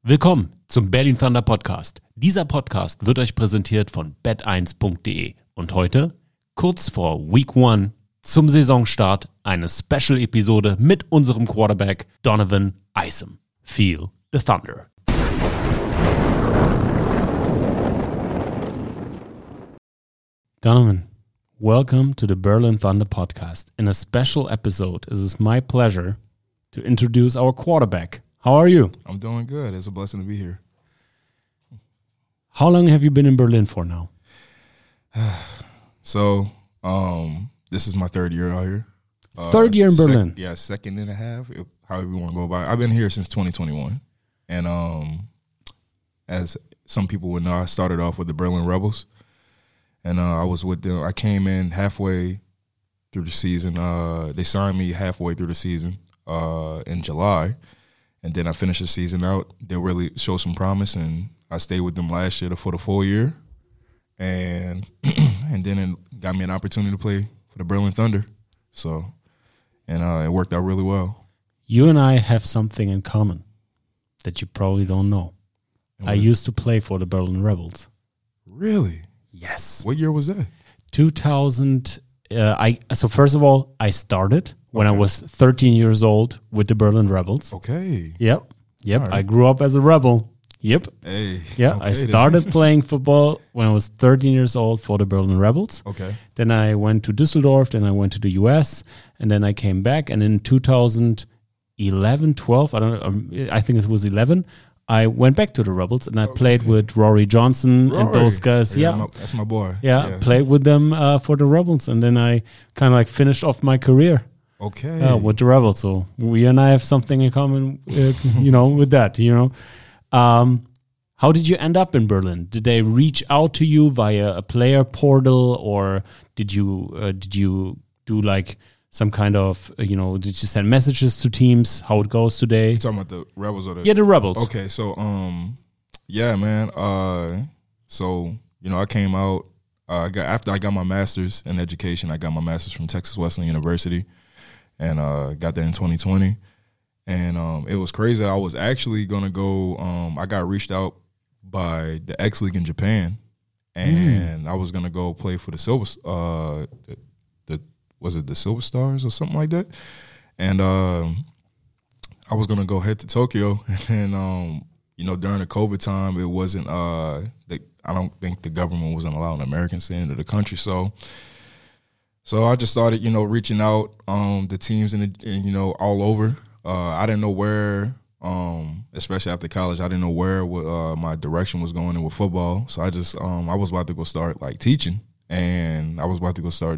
Willkommen zum Berlin Thunder Podcast. Dieser Podcast wird euch präsentiert von bet1.de. Und heute, kurz vor Week 1, zum Saisonstart, eine Special-Episode mit unserem Quarterback Donovan Isom. Feel the Thunder. Donovan, welcome to the Berlin Thunder Podcast. In a special episode, it is my pleasure to introduce our quarterback. How are you? I'm doing good. It's a blessing to be here. How long have you been in Berlin for now? So, this is my third year out here. Third year in Berlin? Second and a half, however you want to go about it. I've been here since 2021. And as some people would know, I started off with the Berlin Rebels. And I was with them. I came in halfway through the season. They signed me halfway through the season in July. And then I finished the season out. They really showed some promise, and I stayed with them last year for the full year. And then it got me an opportunity to play for the Berlin Thunder. So, and it worked out really well. You and I have something in common that you probably don't know. I used to play for the Berlin Rebels. Really? Yes. What year was that? 2000. So first of all, I started when I was 13 years old with the Berlin Rebels. Okay. Yep. Right. I grew up as a rebel. Yep. Hey. Yeah. Okay, I started playing football when I was 13 years old for the Berlin Rebels. Okay. Then I went to Düsseldorf. Then I went to the US, and then I came back. And in 2011, 12, I think it was 11. I went back to the Rebels, and I played with Rory Johnson and those guys. Yeah, that's my boy. Yeah, played with them for the Rebels, and then I kind of like finished off my career. Okay. With the Rebels. So we and I have something in common, with that. How did you end up in Berlin? Did they reach out to you via a player portal, or did you do like some kind of, did you send messages to teams, how it goes today? You talking about the Rebels or the... Yeah, the Rebels. Okay, so, yeah, man. I came out, after I got my master's in education, I got my master's from Texas Wesleyan University, and got that in 2020. And it was crazy. I was actually going to go, I got reached out by the X League in Japan, and I was going to go play for the Silver, was it the Silver Stars or something like that? And I was going to go head to Tokyo. And then, during the COVID time, it wasn't, I don't think the government wasn't allowing Americans into the country. So I just started, reaching out to teams and all over. I didn't know where, especially after college, I didn't know where my direction was going in with football. So I just, I was about to go start like teaching, and I was about to go start,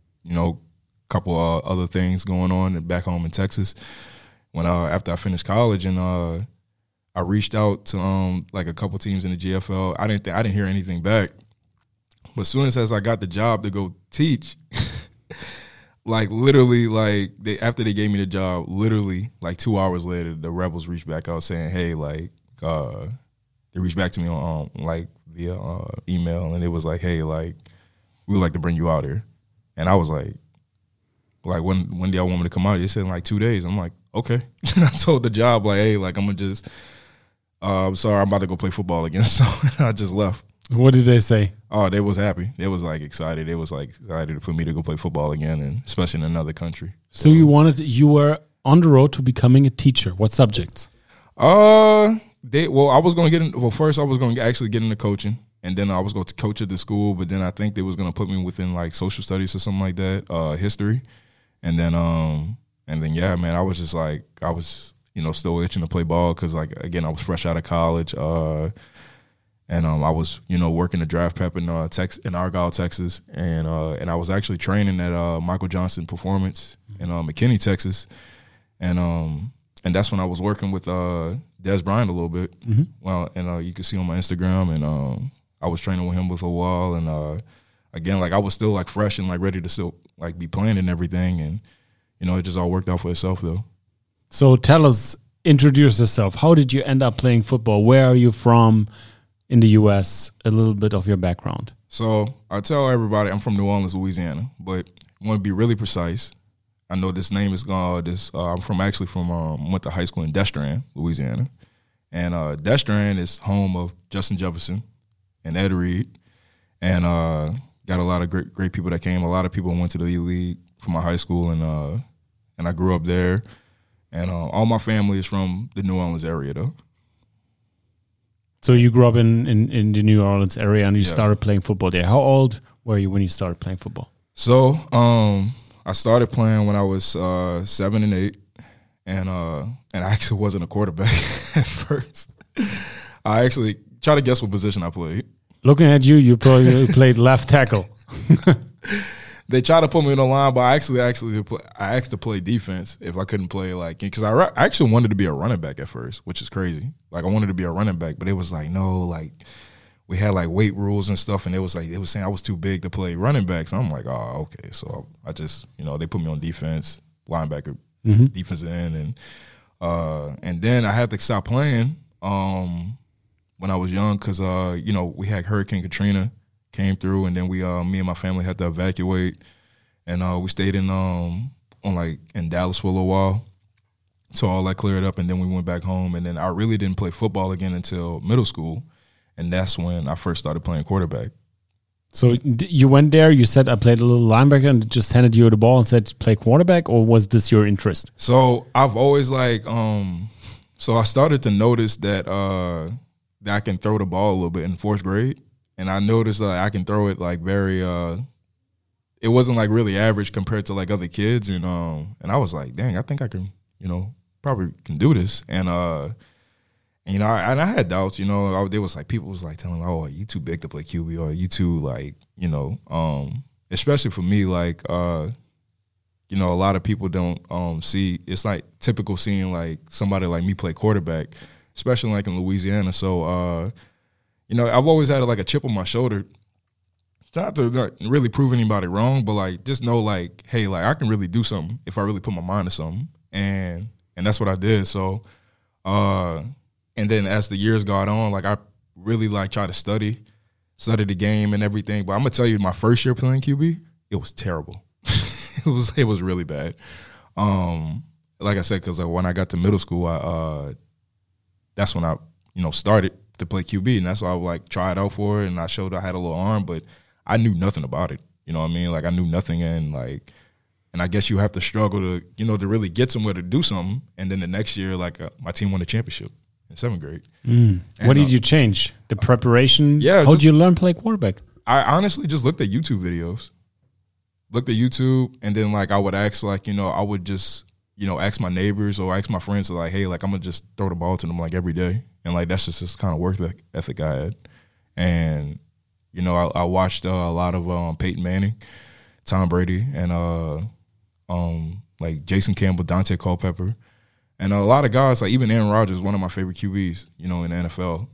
couple other things going on back home in Texas. When after I finished college, and I reached out to like a couple teams in the GFL. I didn't hear anything back. But as soon as I got the job to go teach, like literally, like after they gave me the job, literally like 2 hours later, the Rebels reached back out saying, "Hey, like they reached back to me on like via email, and it was like, hey, like we would like to bring you out here." And I was like when do y'all want me to come out? They said in like 2 days. I'm like, okay. I told the job like, hey, like I'm gonna just, I'm sorry, I'm about to go play football again. So I just left. What did they say? Oh, they was happy. They was like excited. They was like excited for me to go play football again, and especially in another country. So you were on the road to becoming a teacher. What subjects? I was gonna get in. Well, first I was gonna actually get into coaching. And then I was going to coach at the school, but then I think they was going to put me within like social studies or something like that, history. And then, yeah, man, I was just like, I was, still itching to play ball because, like, again, I was fresh out of college. And I was, working the draft prep in Argyle, Texas. And I was actually training at Michael Johnson Performance in McKinney, Texas. And that's when I was working with Des Bryant a little bit. Mm-hmm. Well, and you can see on my Instagram, and I was training with him with a while, and again, like I was still like fresh and like ready to still like be playing and everything, and it just all worked out for itself though. So tell us, introduce yourself. How did you end up playing football? Where are you from in the U.S.? A little bit of your background. So I tell everybody I'm from New Orleans, Louisiana, but I want to be really precise. I know this name is I'm went to high school in Destrehan, Louisiana. And Destrehan is home of Justin Jefferson and Ed Reed. And got a lot of great people that came. A lot of people went to the E-League from my high school, and I grew up there. And all my family is from the New Orleans area, though. So you grew up in the New Orleans area, and you started playing football there. How old were you when you started playing football? So I started playing when I was 7 and 8, and I actually wasn't a quarterback at first. I actually try to guess what position I played. Looking at you, you probably played left tackle. They tried to put me in the line, but I asked to play defense if I couldn't play, like, because I actually wanted to be a running back at first, which is crazy. Like, I wanted to be a running back, but it was like, no, like, we had like weight rules and stuff, and it was like they was saying I was too big to play running back. So I'm like, oh, okay. So I just, they put me on defense, linebacker, defensive end, and then I had to stop playing when I was young because we had Hurricane Katrina came through, and then me and my family had to evacuate, and we stayed in Dallas for a little while. So all that cleared up, and then we went back home, and then I really didn't play football again until middle school, and that's when I first started playing quarterback. So you went there, you said I played a little linebacker, and just handed you the ball and said play quarterback, or was this your interest? So I've always so I started to notice that I can throw the ball a little bit in 4th grade. And I noticed that I can throw it like very it wasn't like really average compared to like other kids. And I was like, dang, I think I can, probably can do this. And I had doubts, there was like people was like telling me, oh, are you too big to play QB, or are you too like, especially for me, like a lot of people don't see, it's like typical seeing like somebody like me play quarterback, especially like in Louisiana. So I've always had like a chip on my shoulder, not to really prove anybody wrong, but like just know like, hey, like I can really do something if I really put my mind to something, and that's what I did. So, and then as the years got on, like I really like try to study the game and everything. But I'm gonna tell you, my first year playing QB, it was terrible. it was really bad. Like I said, because when I got to middle school, that's when I started to play QB, and that's why I would like try it out for it, and I showed I had a little arm, but I knew nothing about it. You know what I mean? Like I knew nothing, and I guess you have to struggle to to really get somewhere to do something, and then the next year, like my team won the championship in 7th grade. What did you change? The preparation? Yeah. How did you learn to play quarterback? I honestly just looked at YouTube videos, and then like I would ask I would just ask my neighbors or ask my friends like, hey, like I'm gonna just throw the ball to them like every day. And like that's just this kind of work ethic I had, and I watched a lot of Peyton Manning, Tom Brady, and like Jason Campbell, Dante Culpepper, and a lot of guys like even Aaron Rodgers, one of my favorite QBs, in the NFL.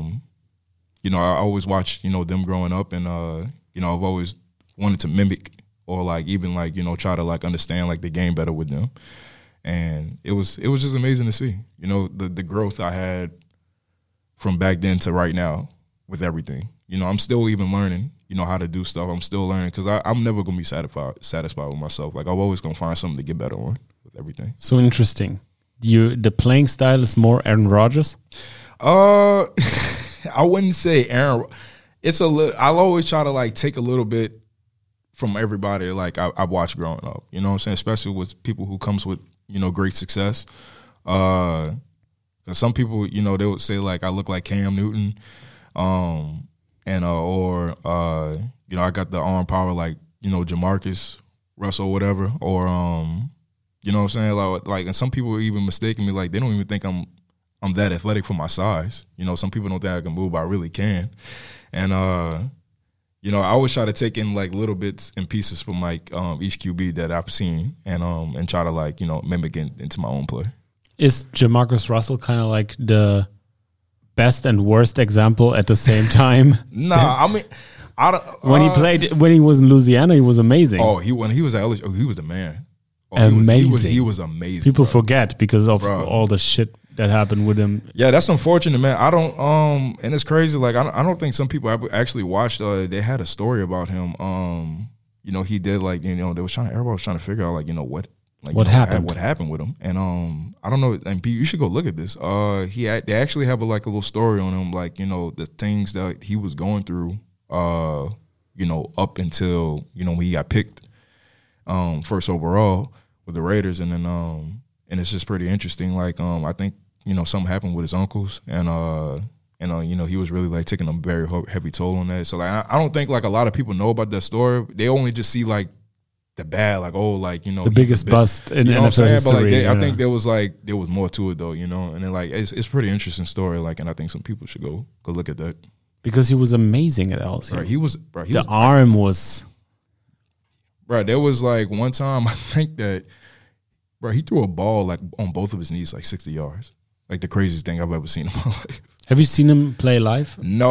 I always watched them growing up, and I've always wanted to mimic or like even like try to like understand like the game better with them, and it was just amazing to see the growth I had from back then to right now with everything. I'm still even learning, how to do stuff. I'm still learning because I'm never going to be satisfied with myself. Like I'm always going to find something to get better on with everything. So interesting. The playing style is more Aaron Rodgers? I wouldn't say Aaron. It's a little, I'll always try to like take a little bit from everybody like I watched growing up. You know what I'm saying? Especially with people who comes with, great success. Because some people, they would say like I look like Cam Newton, I got the arm power like Jamarcus Russell, whatever, or you know what I'm saying, like, and some people even mistaking me like they don't even think I'm that athletic for my size. Some people don't think I can move, but I really can, and I always try to take in like little bits and pieces from like each QB that I've seen, and try to like mimic it into my own play. Is Jamarcus Russell kind of like the best and worst example at the same time? Nah, I mean, when he was in Louisiana, he was amazing. Oh, when he was at LSU, he was the man. Amazing. He was amazing. People forget because of all the shit that happened with him. Yeah, that's unfortunate, man. I don't and it's crazy. Like I don't think some people actually watched. They had a story about him. He did like everybody was trying to figure out like Like, what happened? What happened with him? And I don't know. And you should go look at this. They actually have a little story on him, like, you know, the things that he was going through. You know, up until, you know, when he got picked first overall with the Raiders, and then and it's just pretty interesting. Like, I think, you know, something happened with his uncles, and you know, he was really like taking a very heavy toll on that. So like, I don't think like a lot of people know about that story. They only just see like the bad, like, oh, like, you know, the biggest bust in you know NFL history. But like, I think there was more to it though, you know. And then like it's a pretty interesting story. Like, and I think some people should go look at that. Because he was amazing at LSU. Right, the arm was. Right, there was like one time I think that, bro, he threw a ball like on both of his knees like 60 yards. Like the craziest thing I've ever seen in my life. Have you seen him play live? No,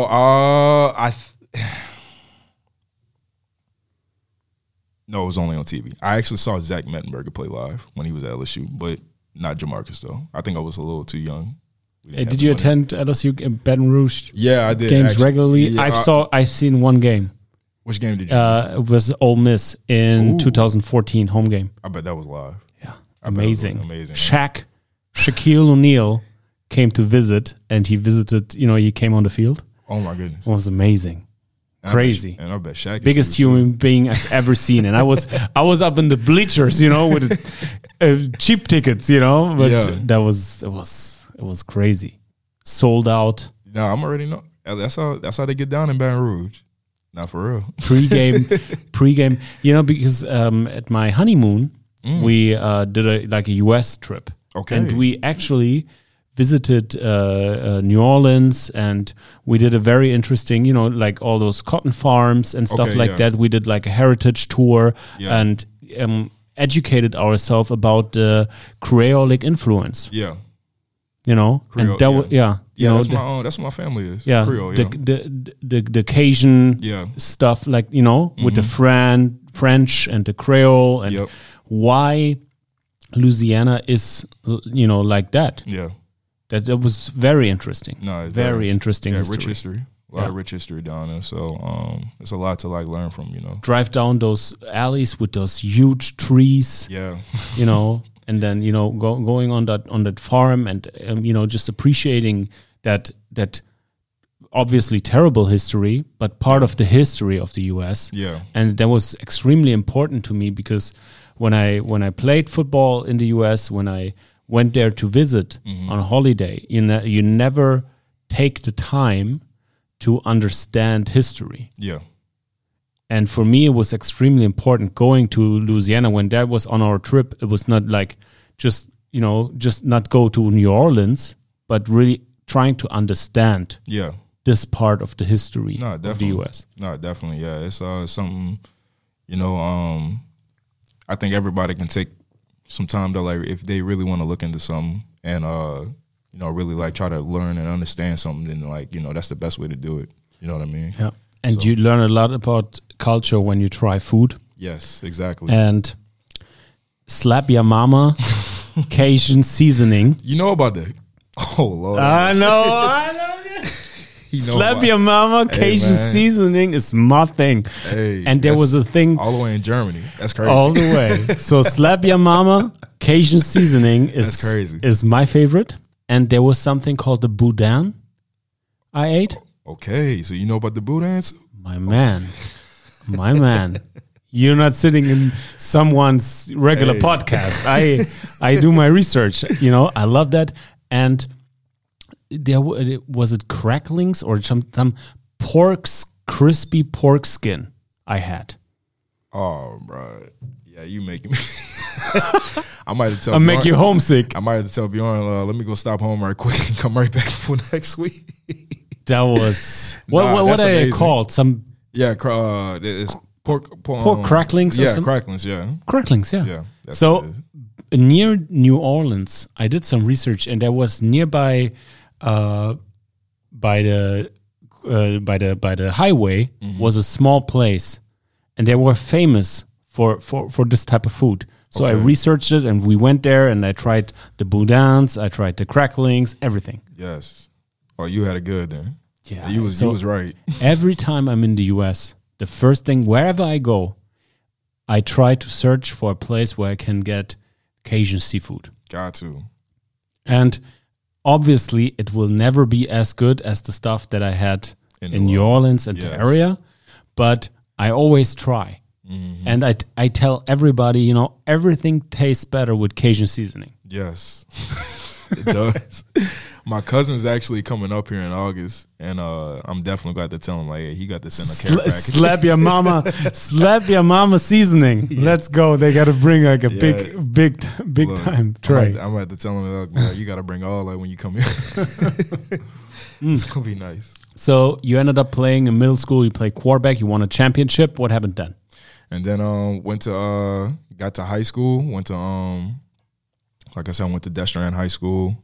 no, it was only on TV. I actually saw Zach Mettenberger play live when he was at LSU, but not Jamarcus though. I think I was a little too young. Did you attend LSU Baton Rouge? Yeah, I did. Games regularly. Yeah, I've seen one game. Which game did you? It was Ole Miss in 2014 home game. I bet that was live. Yeah, amazing. Amazing. Shaquille O'Neal came to visit, and he visited. You know, he came on the field. Oh my goodness, it was amazing. Crazy. And I bet Shaq biggest human being I've ever seen. And I was up in the bleachers, you know, with cheap tickets, you know, but it was crazy. Sold out. No, I'm already know. That's how they get down in Baton Rouge. Not for real. Pre-game, you know, because at my honeymoon we did a US trip. Okay. And we actually visited New Orleans, and we did a very interesting, you know, like all those cotton farms and stuff that. We did like a heritage tour and educated ourselves about the Creolic influence. Yeah. You know, Creole, and that you know, that's what my family is. Yeah, Creole, the Cajun stuff, like, you know, with the French and the Creole, and why Louisiana is, you know, like that. Yeah. That was very interesting. No, very interesting history. Rich history. A lot of rich history down there. So it's a lot to like learn from, you know. Drive down those alleys with those huge trees. Yeah. You know, and then, you know, going on that farm, and you know, just appreciating that obviously terrible history, but part of the history of the US. Yeah. And that was extremely important to me, because when I played football in the US, when I went there to visit on a holiday, you never take the time to understand history. Yeah. And for me, it was extremely important going to Louisiana. When that was on our trip, it was not like just not go to New Orleans, but really trying to understand this part of the history of the U.S. No, definitely. Yeah, it's something, you know, I think everybody can take some time to, like, if they really want to look into something and, you know, really like try to learn and understand something, then, like, you know, that's the best way to do it. You know what I mean? Yeah. And you learn a lot about culture when you try food. Yes, exactly. And Slap Your Mama Cajun seasoning. You know about that? Oh, Lord. I know. Slap Your Mama Cajun seasoning is my thing. Hey, and there was a thing all the way in Germany. That's crazy. All the way. So Slap Your Mama Cajun seasoning is my favorite. And there was something called the boudin I ate. Okay, so you know about the boudin? My man. You're not sitting in someone's regular podcast. I do my research. You know, I love that. And was it cracklings or some crispy pork skin I had? Oh, bro. Yeah, you making me. I might have to tell. I'll make you homesick. I might have to tell Bjorn, let me go stop home right quick and come right back for next week. That was what are they called? Some it's pork cracklings. Yeah, cracklings. Yeah, cracklings. Yeah. So near New Orleans, I did some research, and there was nearby, by the highway, was a small place, and they were famous for this type of food. So I researched it, and we went there, and I tried the boudins, I tried the cracklings, everything. Yes. Oh, you had it good then. Yeah. You was right. Every time I'm in the US, the first thing, wherever I go, I try to search for a place where I can get Cajun seafood. Got to. And obviously, it will never be as good as the stuff that I had in New Orleans and the area, but I always try. Mm-hmm. And I tell everybody, everything tastes better with Cajun seasoning. Yes, it does. My cousin's actually coming up here in August, and I'm definitely glad to tell him, like, hey, he got this in a care package. Slap your mama seasoning. Yeah. Let's go. They got to bring like a big time tray. I'm going to have to tell him, look, man, you got to bring all that when you come here. It's going to be nice. So you ended up playing in middle school. You played quarterback. You won a championship. What happened then? And then got to high school. Went to like I said, I went to Destrehan High School.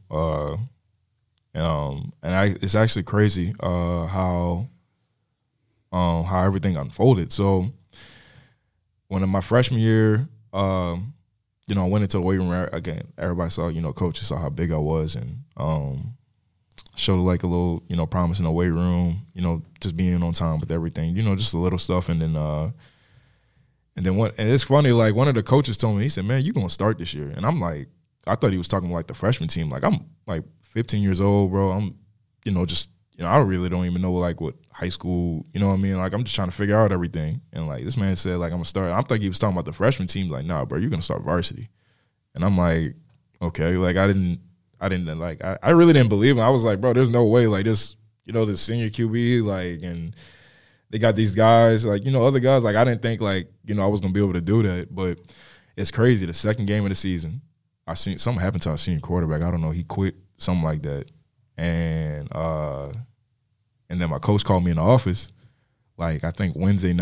It's actually crazy how everything unfolded. So when in my freshman year, I went into the weight room again. Everybody saw, coaches saw how big I was, and showed like a little, promise in the weight room. Just being on time with everything. Just the little stuff, and then it's funny. Like one of the coaches told me, he said, "Man, you gonna start this year?" And I'm like, I thought he was talking about like the freshman team. Like I'm like 15 years old, bro. I'm, I really don't even know like what high school, you know what I mean? Like I'm just trying to figure out everything. And like this man said, like I'm gonna start. I'm thinking he was talking about the freshman team. Like, nah, bro, you're gonna start varsity. And I'm like, okay. Like I really didn't believe him. I was like, bro, there's no way. Like this, the senior QB, like, and they got these guys, like, other guys. Like I didn't think like, I was gonna be able to do that. But it's crazy. The second game of the season, I seen something happen to our senior quarterback. I don't know. He quit. Something like that. And then my coach called me in the office, like I think Wednesday,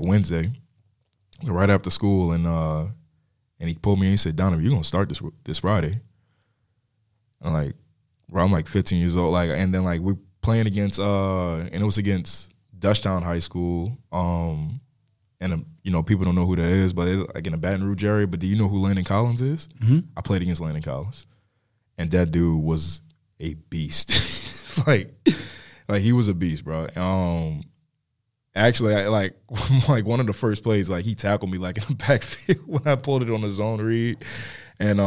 right after school, and he pulled me and he said, "Donovan, you're gonna start this Friday." I'm like, bro, I'm like 15 years old, like, and then like we're playing against and it was against Dutchtown High School, and people don't know who that is, but it's like in the Baton Rouge area. But do you know who Landon Collins is? Mm-hmm. I played against Landon Collins. And that dude was a beast. like he was a beast, bro. Actually, I one of the first plays, like he tackled me like in the backfield when I pulled it on the zone read, and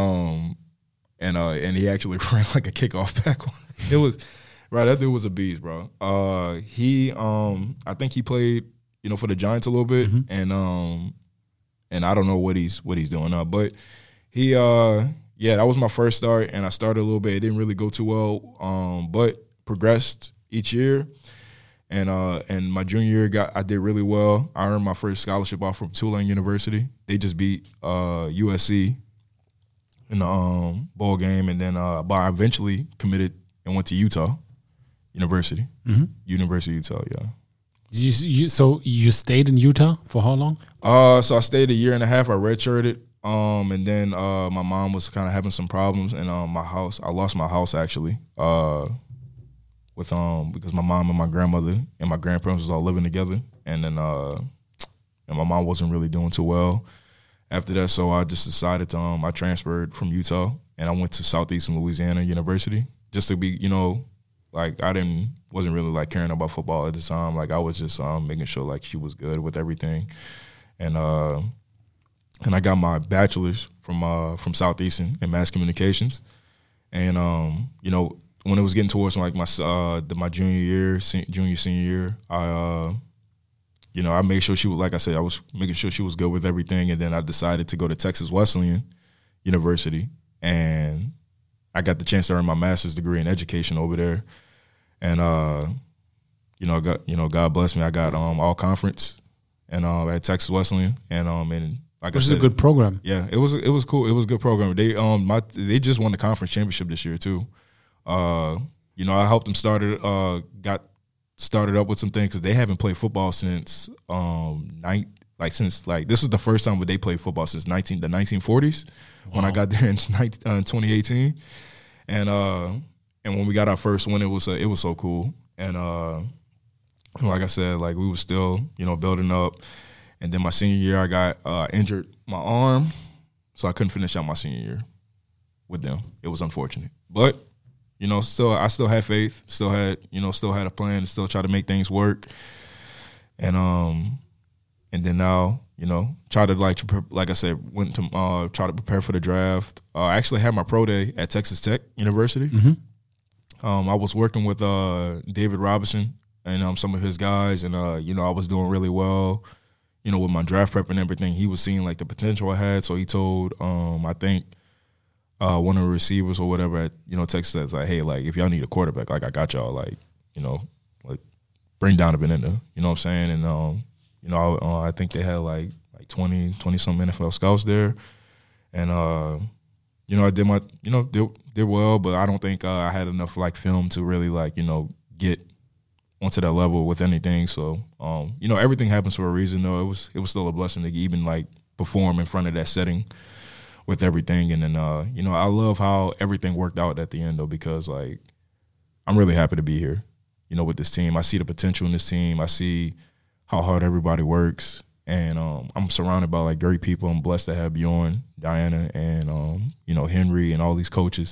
he actually ran like a kickoff back on it. It was right. That dude was a beast, bro. I think he played, for the Giants a little bit, mm-hmm. and I don't know what he's doing now, but he yeah, that was my first start, and I started a little bit. It didn't really go too well, but progressed each year. And my junior year, I did really well. I earned my first scholarship offer from Tulane University. They just beat USC in the bowl game, and then but I eventually committed and went to Utah University, mm-hmm. University of Utah. Yeah. So you stayed in Utah for how long? So I stayed a year and a half. I redshirted. And then my mom was kind of having some problems, and I lost my house actually, with because my mom and my grandmother and my grandparents was all living together, and then and my mom wasn't really doing too well after that, so I just decided to I transferred from Utah and I went to Southeastern Louisiana University just to be, like wasn't really like caring about football at the time. Like I was just making sure like she was good with everything, and I got my bachelor's from Southeastern in mass communications, and when it was getting towards like my junior senior year, I made sure she was, like I said, I was making sure she was good with everything, and then I decided to go to Texas Wesleyan University, and I got the chance to earn my master's degree in education over there, and God bless me, I got all conference, and at Texas Wesleyan, and like which is a good program. Yeah, it was cool. It was a good program. They just won the conference championship this year too. I helped them got started up with some things because they haven't played football since this is the first time they played football since the 1940s. Wow. When I got there in 2018, and when we got our first win, it was so cool. And like I said, like we were still building up. And then my senior year, I got injured my arm, so I couldn't finish out my senior year with them. It was unfortunate, but I still had faith, still had a plan, still try to make things work. And and then now, you know, try to like I said, went to try to prepare for the draft. I actually had my pro day at Texas Tech University. I was working with David Robinson and some of his guys, and you know, I was doing really well, you know, with my draft prep and everything. He was seeing like the potential I had, so he told I think one of the receivers or whatever at, you know, Texas Tech, like, hey, like if y'all need a quarterback, like I got y'all, like, you know, like bring Donovan in there, you know what I'm saying? And you know, I think they had like 20 some NFL scouts there, and you know, I did my, you know, did well, but I don't think I had enough like film to really like, you know, get onto that level with anything. So you know, everything happens for a reason. Though it was still a blessing to even like perform in front of that setting with everything. And then you know, I love how everything worked out at the end though, because like I'm really happy to be here, you know, with this team. I see the potential in this team. I see how hard everybody works, and I'm surrounded by like great people. I'm blessed to have Bjorn, Diana, and you know, Henry and all these coaches,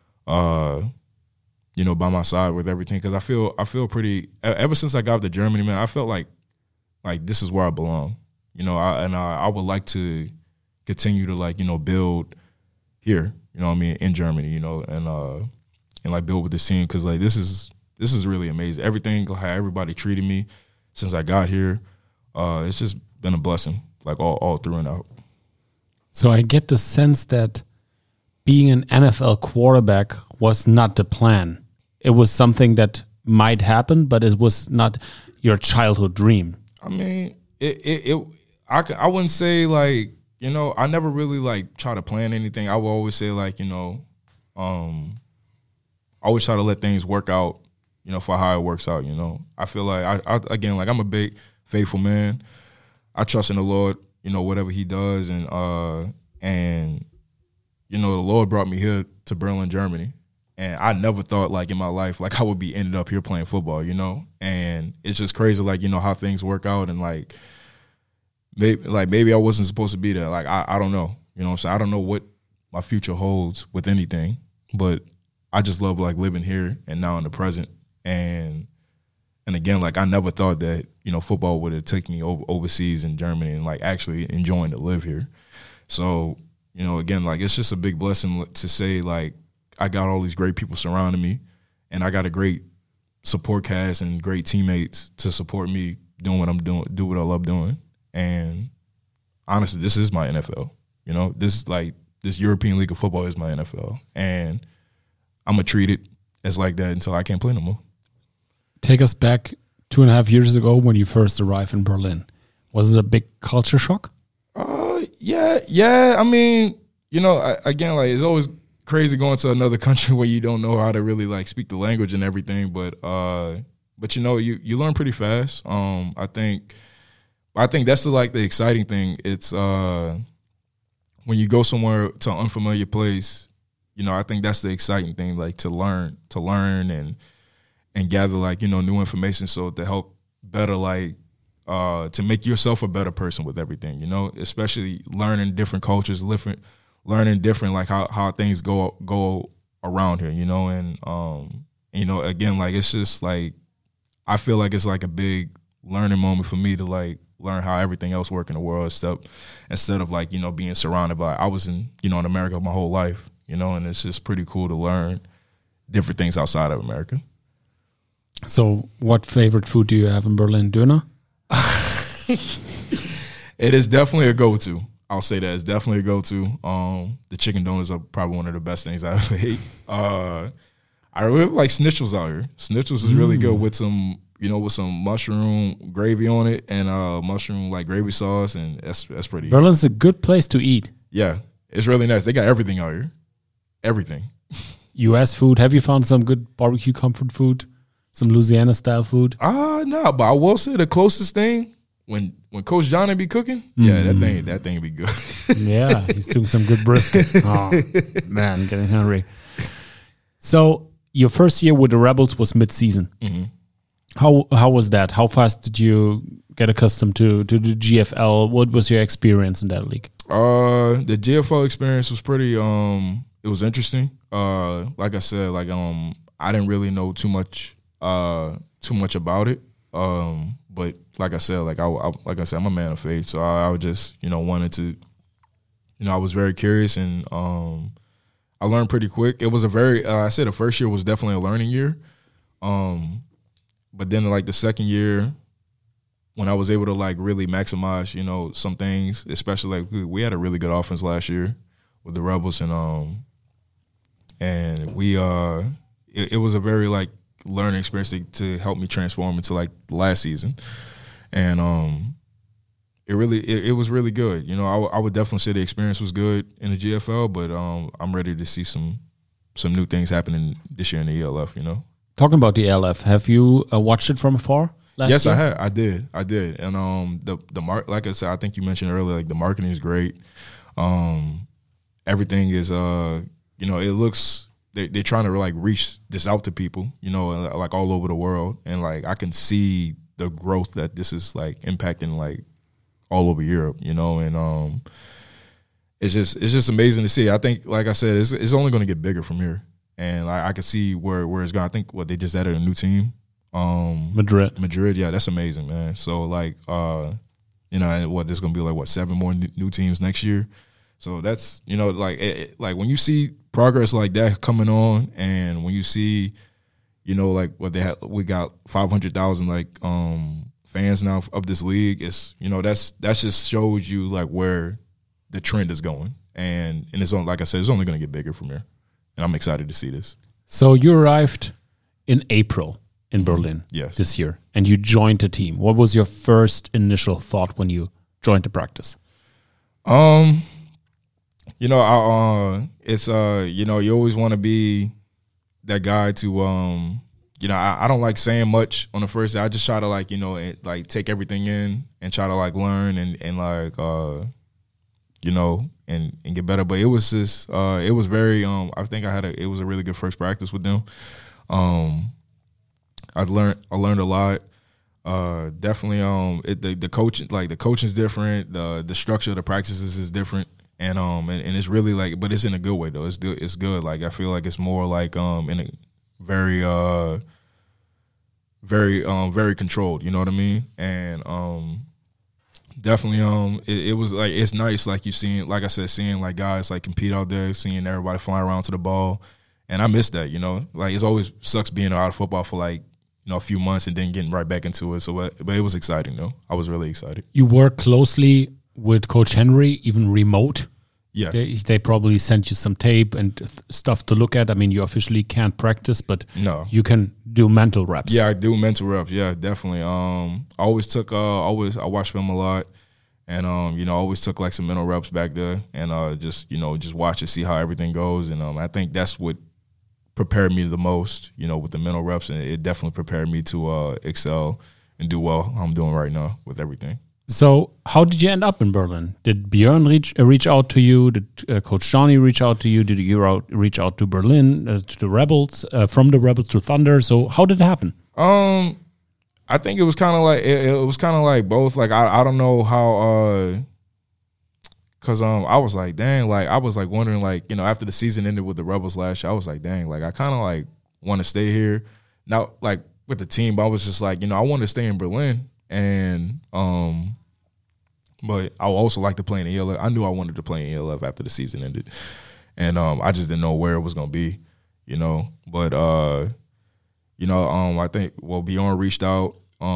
you know, by my side with everything. Because I feel pretty. Ever since I got to Germany, man, I felt like this is where I belong. You know, I would like to continue to like, you know, build here. You know what I mean, in Germany. You know, and like build with this team, because like this is really amazing. Everything, how everybody treated me since I got here, it's just been a blessing, like all through and out. So I get the sense that being an NFL quarterback was not the plan. It was something that might happen, but it was not your childhood dream. I mean, I wouldn't say like, you know, I never really like try to plan anything. I would always say like, you know, I always try to let things work out, you know, for how it works out, you know. I feel like, I again, like I'm a big faithful man. I trust in the Lord, you know, whatever he does. And you know, the Lord brought me here to Berlin, Germany. And I never thought like in my life, like I would be ended up here playing football, you know. And it's just crazy, like, you know, how things work out. And like maybe I wasn't supposed to be there. Like, I don't know, you know what I'm saying? I don't know what my future holds with anything, but I just love like living here and now in the present. And again, like I never thought that, you know, football would have taken me overseas in Germany and like actually enjoying to live here. So, you know, again, like it's just a big blessing to say like I got all these great people surrounding me, and I got a great support cast and great teammates to support me doing what I'm doing, do what I love doing. And honestly, this is my NFL. You know, this European League of Football is my NFL, and I'm gonna treat it as like that until I can't play no more. Take us back 2.5 years ago when you first arrived in Berlin. Was it a big culture shock? Yeah. I mean, you know, again, like it's always crazy going to another country where you don't know how to really like speak the language and everything. But you know, you learn pretty fast. I think that's the exciting thing. It's when you go somewhere to an unfamiliar place, you know, I think that's the exciting thing, like to learn and gather like, you know, new information, so to help better like to make yourself a better person with everything, you know, especially learning different cultures, learning different like how things go around here, you know. And you know, again, like it's just like I feel like it's like a big learning moment for me to like learn how everything else works in the world instead of like, you know, being surrounded by, I was in America my whole life, you know, and it's just pretty cool to learn different things outside of America. So what favorite food do you have in Berlin? Döner? It is definitely a go-to. I'll say that it's definitely a go-to. The chicken donuts are probably one of the best things I ever ate. I really like schnitzels out here. Schnitzels is really good with some mushroom gravy on it and mushroom like gravy sauce, and that's pretty. Berlin's a good place to eat. Yeah, it's really nice. They got everything out here. Everything. U.S. food. Have you found some good barbecue comfort food? Some Louisiana style food? No, but I will say the closest thing when Coach Johnny be cooking, yeah, that thing be good. Yeah, he's doing some good brisket. Oh man, getting hungry. So your first year with the Rebels was mid-season. Mm-hmm. How was that? How fast did you get accustomed to the GFL? What was your experience in that league? The GFL experience was pretty. It was interesting. Like I said, like I didn't really know too much about it. But like I said, I'm a man of faith. So I would just, wanted to, I was very curious, and I learned pretty quick. It was I said the first year was definitely a learning year. But then like the second year, when I was able to like really maximize, some things, especially like we had a really good offense last year with the Rebels, and we it was a very like learning experience to help me transform into like last season, and it was really good. I would definitely say the experience was good in the GFL, but I'm ready to see some new things happening this year in the ELF. Talking about the ELF, have you watched it from afar? Yes, year? I did, and like I said, I think you mentioned earlier, like the marketing is great. Everything is, it looks they're trying to like reach this out to people, like all over the world, and like I can see the growth that this is like impacting like all over Europe, and it's just amazing to see. I think, like I said, it's only going to get bigger from here, and I can see where it's going. I think they just added a new team. Madrid, yeah, that's amazing, man. So like, there's gonna be like 7 more new teams next year. So that's like when you see progress like that coming on, and when you see, like what we got 500,000 like fans now of this league. It's that just shows you like where the trend is going, and it's on, like I said, it's only gonna get bigger from here, and I'm excited to see this. So you arrived in April in Berlin this year, and you joined the team. What was your first initial thought when you joined the practice? You always want to be that guy to, I don't like saying much on the first day. I just try to like take everything in and try to like learn and like, and get better. But it was just, it was very, I think it was a really good first practice with them. I learned a lot. Definitely, the coaching's different. The structure of the practices is different, and it's really like, but it's in a good way though. It's good. Like I feel like it's more like in a very very controlled. You know what I mean? And definitely it was like, it's nice, like you seeing, like I said, seeing like guys like compete out there, seeing everybody flying around to the ball, and I miss that. Like it's always sucks being out of football for like, a few months and then getting right back into it. So, but it was exciting though. I was really excited. You work closely with Coach Henry, even remote. Yeah, they probably sent you some tape and stuff to look at. I mean, you officially can't practice, but you can do mental reps. Yeah, I do mental reps. Yeah, definitely. I always took. I watched film a lot, and I always took like some mental reps back there, and just watch and see how everything goes. And I think that's what prepared me the most, with the mental reps, and it definitely prepared me to excel and do well how I'm doing right now with everything. So how did you end up in Berlin? Did Björn reach out to you? Did Coach Johnny reach out to you? Did you reach out to Berlin, to the Rebels, from the Rebels to Thunder? So how did it happen? I think it was kind of like, it was kind of like both. Like, I don't know how, cause I was like, dang, like I was like wondering, like, after the season ended with the Rebels last year, I was like, dang, like I kind of like want to stay here now, like with the team. But I was just like, I want to stay in Berlin, and but I also like to play in the ELF. I knew I wanted to play in ELF after the season ended, and I just didn't know where it was gonna be, But I think Bjorn reached out.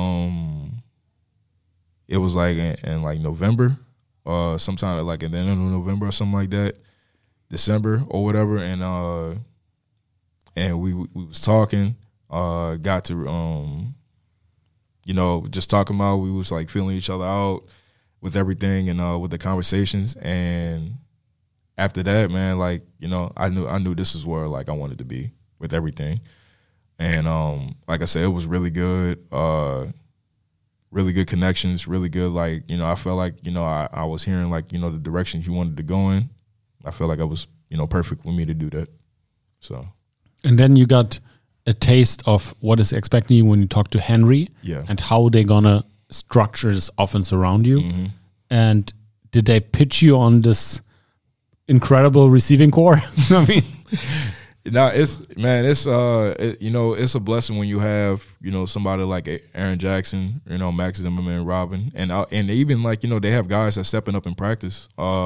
It was like in like November. Sometime like at the end of November or something like that, December or whatever, and we was talking, got to just talking about, we was like feeling each other out with everything, and with the conversations, and after that, man, like I knew this is where like I wanted to be with everything, and like I said, it was really good. Really good connections, really good, like, I felt like, I was hearing, like, the direction he wanted to go in. I felt like I was, perfect for me to do that. So. And then you got a taste of what is expecting you when you talk to Henry, and how they're going to structure this offense around you. Mm-hmm. And did they pitch you on this incredible receiving core? I mean, No, it's it's a blessing when you have, somebody like Aaron Jackson, Max Zimmerman, Robin, and even like, they have guys that stepping up in practice.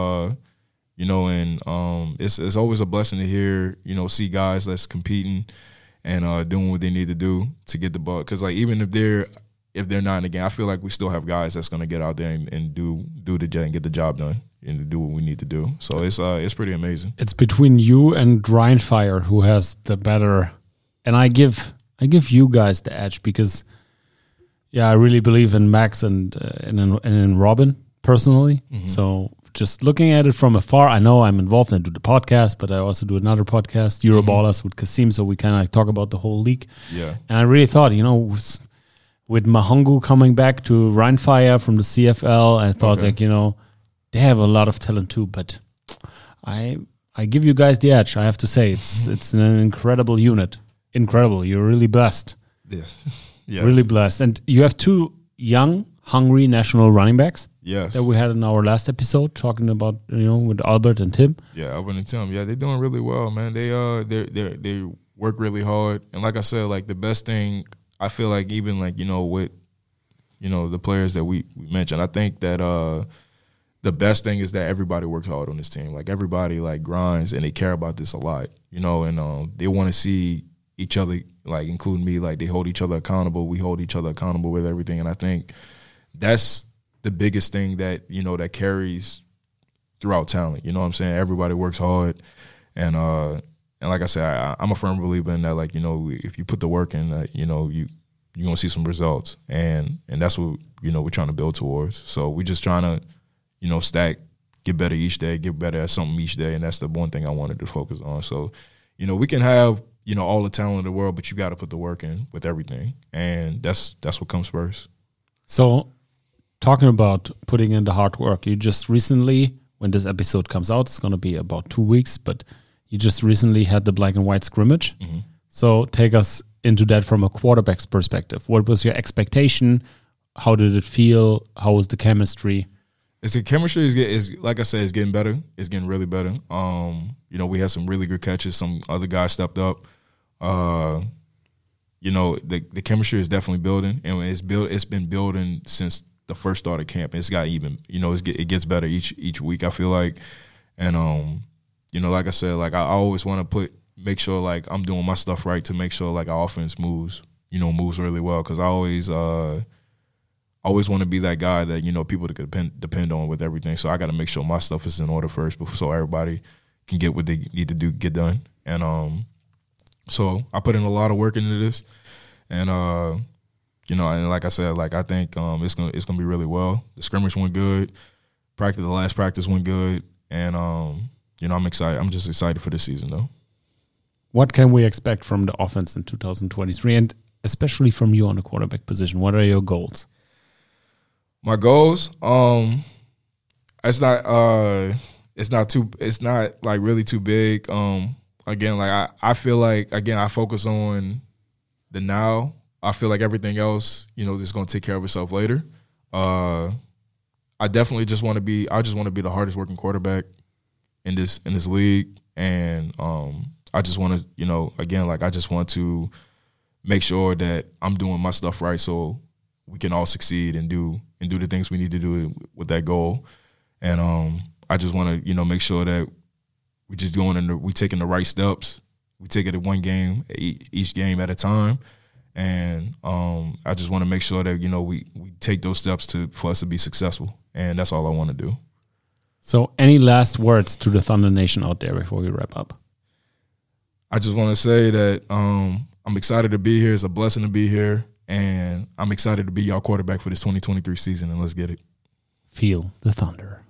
It's always a blessing to hear, see guys that's competing and doing what they need to do to get the ball. Because like even if they're not in the game, I feel like we still have guys that's going to get out there and do the job and get the job done and do what we need to do. So it's pretty amazing. It's between you and Ryan Fire who has the better, and I give you guys the edge because, I really believe in Max and in Robin personally. Mm-hmm. So just looking at it from afar, I know I'm involved and do the podcast, but I also do another podcast, Euroballers with Kasim. So we kind of talk about the whole league. Yeah, and I really thought, with Mahongu coming back to Ryan Fire from the CFL, I thought they have a lot of talent too, but I give you guys the edge. I have to say it's an incredible unit. Incredible. You're really blessed. Yes. Really blessed. And you have two young, hungry national running backs. Yes. That we had in our last episode talking about, with Albert and Tim. Yeah, Albert and Tim. Yeah, they're doing really well, man. They work really hard. And like I said, like the best thing I feel like even like, with the players that we mentioned, I think that the best thing is that everybody works hard on this team. Like everybody like grinds and they care about this a lot, and they want to see each other, like including me, like they hold each other accountable. We hold each other accountable with everything. And I think that's the biggest thing that, that carries throughout talent. You know what I'm saying? Everybody works hard. And like I said, I'm a firm believer in that, like, if you put the work in, you're going to see some results. And that's what, we're trying to build towards. So we're just trying to, stack, get better each day, get better at something each day. And that's the one thing I wanted to focus on. So, we can have, all the talent in the world, but you got to put the work in with everything. And that's what comes first. So talking about putting in the hard work, you just recently, when this episode comes out, it's going to be about 2 weeks, but you just recently had the black and white scrimmage. Mm-hmm. So take us into that from a quarterback's perspective. What was your expectation? How did it feel? How was the chemistry? The chemistry is like I said, it's getting better. It's getting really better. We had some really good catches. Some other guys stepped up. The chemistry is definitely building, and it's been building since the first start of camp. It's got even, it gets better each week, I feel like. And like I said, like I always want to make sure like I'm doing my stuff right to make sure like our offense moves really well, because I always want to be that guy that people that could depend on with everything. So I got to make sure my stuff is in order first, so everybody can get what they need to get done. And so I put in a lot of work into this, and and like I said, like I think it's gonna be really well. The scrimmage went good. The last practice went good, and I'm excited. I'm just excited for this season though. What can we expect from the offense in 2023, and especially from you on the quarterback position? What are your goals? My goals, it's not like really too big. Again, like I feel like, again, I focus on the now. I feel like everything else, is going to take care of itself later. I definitely just want to be the hardest working quarterback in this league. And I just want to, again, like I just want to make sure that I'm doing my stuff right so we can all succeed and do the things we need to do with that goal. And I just want to, make sure that we just we taking the right steps. We take it at one game, each game at a time. And I just want to make sure that, we take those steps for us to be successful. And that's all I want to do. So any last words to the Thunder Nation out there before we wrap up? I just want to say that I'm excited to be here. It's a blessing to be here. And I'm excited to be y'all quarterback for this 2023 season, and let's get it. Feel the Thunder.